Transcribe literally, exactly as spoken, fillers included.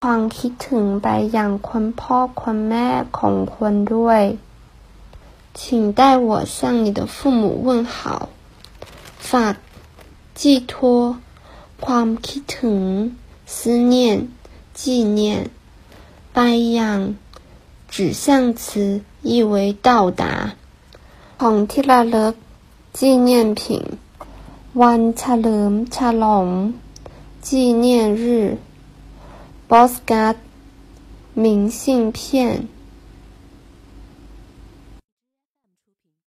ความคิดถึงไปยังคุณพ่อคุณแม่ของคุณด้วย请代我向你的父母问好ฝาก寄托ความคิดถึง思念纪念ไปยัง指向词意为到達ของที่ระลึก纪念品วันเฉลิมฉลอง纪念日 postcard 明信片